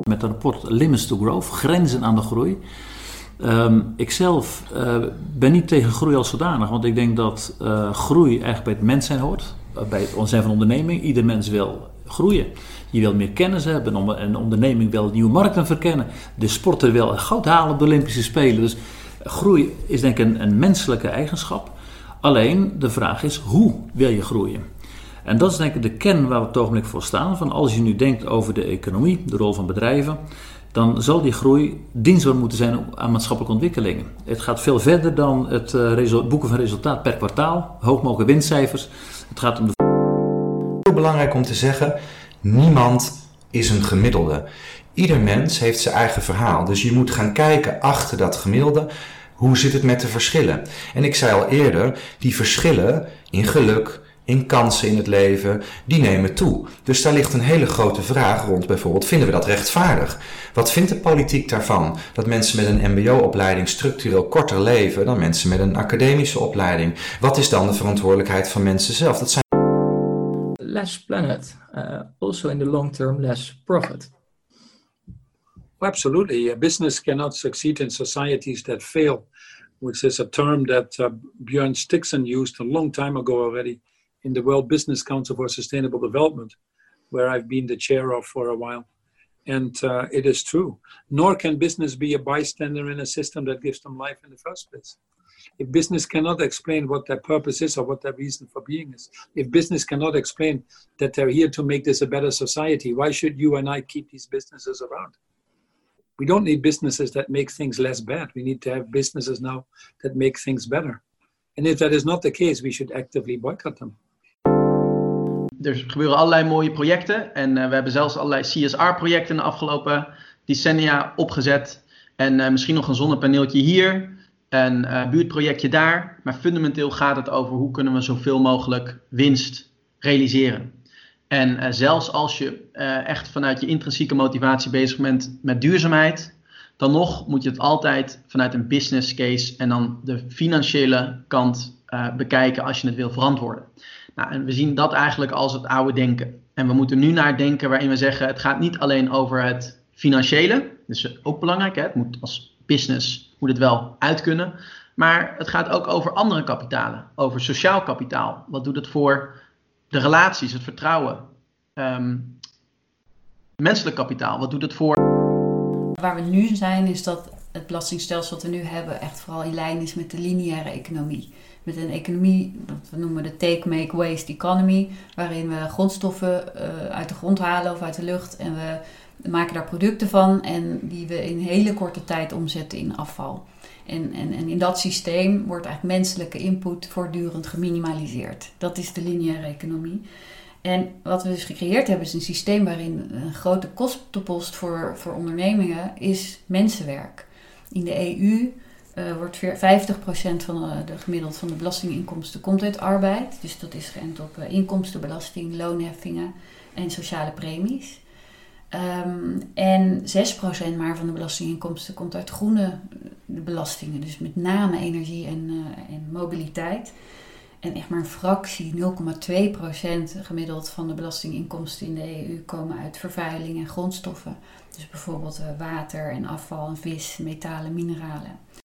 met een rapport Limits to Growth, grenzen aan de groei. Ik zelf ben niet tegen groei als zodanig, want ik denk dat groei eigenlijk bij het mens zijn hoort. Bij het zijn van onderneming. Ieder mens wil groeien. Je wil meer kennis hebben. Een onderneming wil nieuwe markten verkennen. De sporter wil goud halen op de Olympische Spelen. Dus groei is denk ik een menselijke eigenschap. Alleen de vraag is, hoe wil je groeien? En dat is denk ik de kern waar we op het ogenblik voor staan. Van als je nu denkt over de economie, de rol van bedrijven, dan zal die groei dienstbaar moeten zijn aan maatschappelijke ontwikkelingen. Het gaat veel verder dan het boeken van resultaat per kwartaal, hoog mogelijke winstcijfers. Het gaat om de... Heel belangrijk om te zeggen, niemand is een gemiddelde. Ieder mens heeft zijn eigen verhaal. Dus je moet gaan kijken achter dat gemiddelde. Hoe zit het met de verschillen? En ik zei al eerder, die verschillen in geluk, in kansen in het leven, die nemen toe. Dus daar ligt een hele grote vraag rond bijvoorbeeld, vinden we dat rechtvaardig? Wat vindt de politiek daarvan? Dat mensen met een mbo-opleiding structureel korter leven dan mensen met een academische opleiding. Wat is dan de verantwoordelijkheid van mensen zelf? Dat zijn... Less planet, also in the long term less profit. Absolutely. Business cannot succeed in societies that fail, which is a term that Björn Stixon used a long time ago already in the World Business Council for Sustainable Development, where I've been the chair of for a while. And it is true. Nor can business be a bystander in a system that gives them life in the first place. If business cannot explain what their purpose is or what their reason for being is, if business cannot explain that they're here to make this a better society, why should you and I keep these businesses around? We don't need businesses that make things less bad. We need to have businesses now that make things better. And if that is not the case, we should actively boycott them. Er gebeuren allerlei mooie projecten en we hebben zelfs allerlei CSR-projecten de afgelopen decennia opgezet. En misschien nog een zonnepaneeltje hier, een buurtprojectje daar. Maar fundamenteel gaat het over hoe kunnen we zoveel mogelijk winst realiseren. En zelfs als je echt vanuit je intrinsieke motivatie bezig bent met duurzaamheid, dan nog moet je het altijd vanuit een business case en dan de financiële kant bekijken als je het wil verantwoorden. Nou, en we zien dat eigenlijk als het oude denken. En we moeten nu naar denken waarin we zeggen, het gaat niet alleen over het financiële. Dus ook belangrijk, hè? Het moet als business moet het wel uit kunnen. Maar het gaat ook over andere kapitalen. Over sociaal kapitaal. Wat doet het voor de relaties, het vertrouwen? Menselijk kapitaal, wat doet het voor? Waar we nu zijn is dat het belastingstelsel dat we nu hebben echt vooral in lijn is met de lineaire economie. Met een economie, dat we noemen de take, make, waste economy, waarin we grondstoffen uit de grond halen of uit de lucht en we maken daar producten van en die we in hele korte tijd omzetten in afval. En in dat systeem wordt eigenlijk menselijke input voortdurend geminimaliseerd. Dat is de lineaire economie. En wat we dus gecreëerd hebben is een systeem waarin een grote kostenpost voor ondernemingen is mensenwerk. In de EU wordt 50% van de gemiddeld van de belastinginkomsten komt uit arbeid. Dus dat is geënt op inkomstenbelasting, loonheffingen en sociale premies. En 6% maar van de belastinginkomsten komt uit groene belastingen. Dus met name energie en mobiliteit. En echt maar een fractie, 0,2% gemiddeld van de belastinginkomsten in de EU komen uit vervuiling en grondstoffen. Dus bijvoorbeeld water en afval en vis, metalen, mineralen.